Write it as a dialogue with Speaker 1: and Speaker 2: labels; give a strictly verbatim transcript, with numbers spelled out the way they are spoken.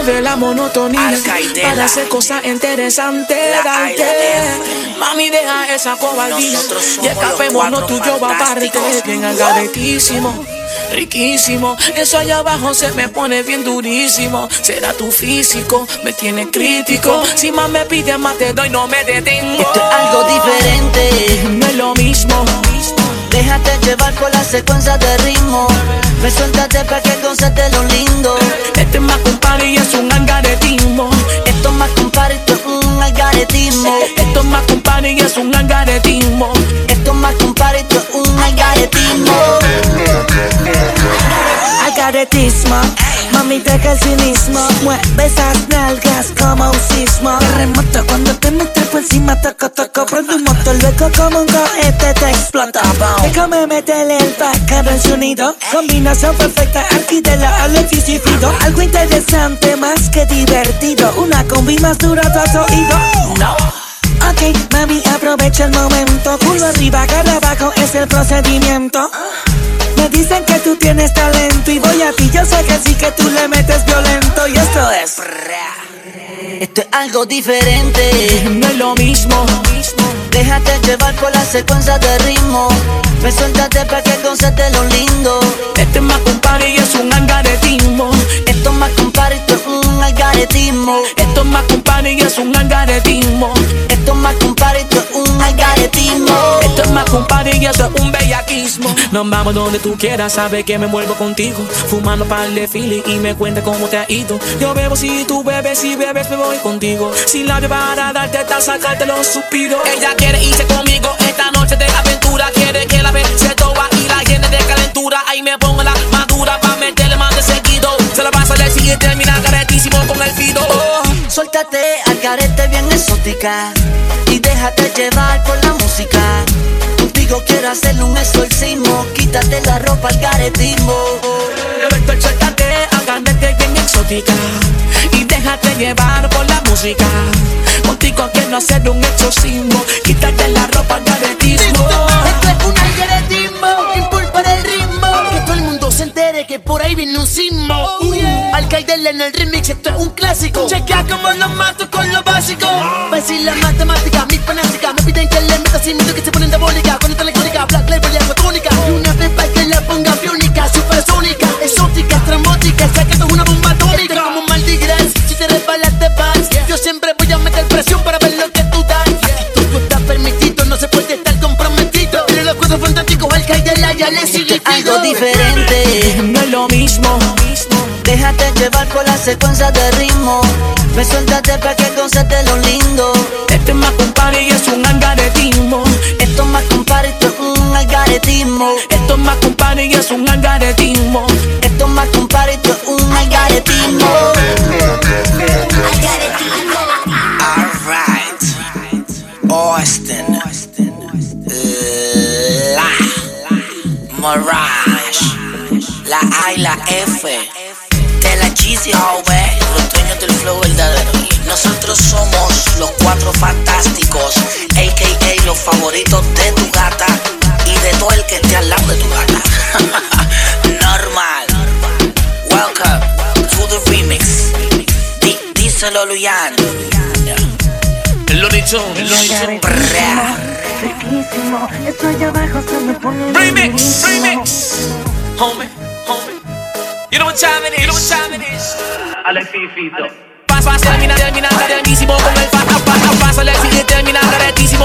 Speaker 1: rompe la monotonía para hacer cosas interesantes. Darte, mami, deja esa cobardía y escapémonos tú y yo aparte. Bien algaretísimo, riquísimo. Eso allá abajo se me pone bien durísimo. Será tu físico, me tiene crítico. Si más me pides más te doy, no me detengo.
Speaker 2: Esto es algo diferente,
Speaker 1: no es lo mismo.
Speaker 2: Déjate llevar por la secuencia de ritmo. Me suéltate pa' que goces lo lindo.
Speaker 1: Este es más compadre y es un algaretismo.
Speaker 2: Esto es más compadre, esto es un algaretismo.
Speaker 1: Esto es más compadre y es un algaretismo.
Speaker 2: Esto es más compadre, esto es un algaretismo. Algaretismo, mami deja el cinismo. Mueve esas nalgas como un sismo. Terremoto cuando te metes por encima, toco, toco. Prende un motor, luego como un cohete te explota. Déjame meterle el bacano en sonido. Combinación perfecta, aquí de la Alexis y Fido. Algo interesante, más que divertido. Una combi más dura, tu oído. No. Ok, mami, aprovecha el momento. Culo arriba, cara abajo, es el procedimiento. Me dicen que tú tienes talento y voy a ti, yo sé que sí que tú le metes violento. Y esto es... Esto es algo diferente,
Speaker 1: no es lo mismo.
Speaker 2: Déjate llevar por la secuencia de ritmo. Me suéltate pa' que goces lo lindo.
Speaker 1: Este es más compadre y es un algaretismo.
Speaker 2: Esto es más compadre, esto es un algaretismo.
Speaker 1: Esto es más compadre y es un algaretismo.
Speaker 2: Esto es más compadre, esto es un algaretismo.
Speaker 1: Esto es más compadre y esto es un bellaquismo. Nos vamos donde tú quieras, sabes que me vuelvo contigo. Fumando par de fili y me cuenta cómo te ha ido. Yo bebo si tú bebes, si bebes me voy contigo. Sin labio para darte tal, sacarte los suspiros. Ella quiere irse conmigo esta noche de aventura. Quiere que la ve se toba y la llene de calentura. Ahí me pongo la madura pa' meterle más de seguido. Se la pasa al siguiente y termina caretísimo con el fido. Oh.
Speaker 2: Suéltate al carete bien exótica y déjate llevar por la música. Contigo quiero hacerle un exorcismo. Quítate la ropa al caretismo.
Speaker 1: Suéltate al carete bien exótica y déjate llevar por la música. Contigo quiero hacer un exorcismo. Quítate la ropa al caretismo.
Speaker 3: Esto es un algaretismo, impulpa el ritmo. Que todo el mundo se entere que por ahí viene un sismo. uh, yeah. Alcaidel en el remix, esto es un clásico. Chequea como los mato con lo básico. Va a decir la matemática, mi fanática. Me piden que le meta sin miedo que se ponen diabólica. Con esta electrónica, black label y agua tónica. Y una pepa que la ponga biónica, supersónica, exótica, estrambótica. Sé que esto es una bomba atómica. Esto es como un maldigras, si te resbalas te vas. Yo siempre voy a meter presión para ver lo que tú das. Aquí todo está permitido, no se puede estar comprometido. Pero los cuadros fantásticos, Alcaidel ya le sigue
Speaker 2: algo diferente,
Speaker 1: no es lo mismo.
Speaker 2: Déjate llevar por la secuencia de ritmo. Me suéltate pa' que goces lo lindo.
Speaker 1: Este es más compadre y es un algaretismo.
Speaker 2: Esto es más compadre, esto es un algaretismo.
Speaker 1: Esto es más compadre y es un algaretismo.
Speaker 2: Esto es más compadre, esto es un algaretismo.
Speaker 4: Alright, Austin, La, Mirage, la A y la F, de la Jeezy Joven, los dueños del flow verdadero. Nosotros somos los cuatro fantásticos, a k a los favoritos de tu gata y de todo el que esté al lado de tu gata. Normal. Welcome to the remix. D díselo, Luyan.
Speaker 1: El Looney Tunes, el Looney Tunes. Remix, remix. Homie, homie. You know what time it is, you know what time it is. Alexis Fito. Pasa, termina, termina, caretísimo con el pasa, pasa, pasa, Alexis, termina, caretísimo.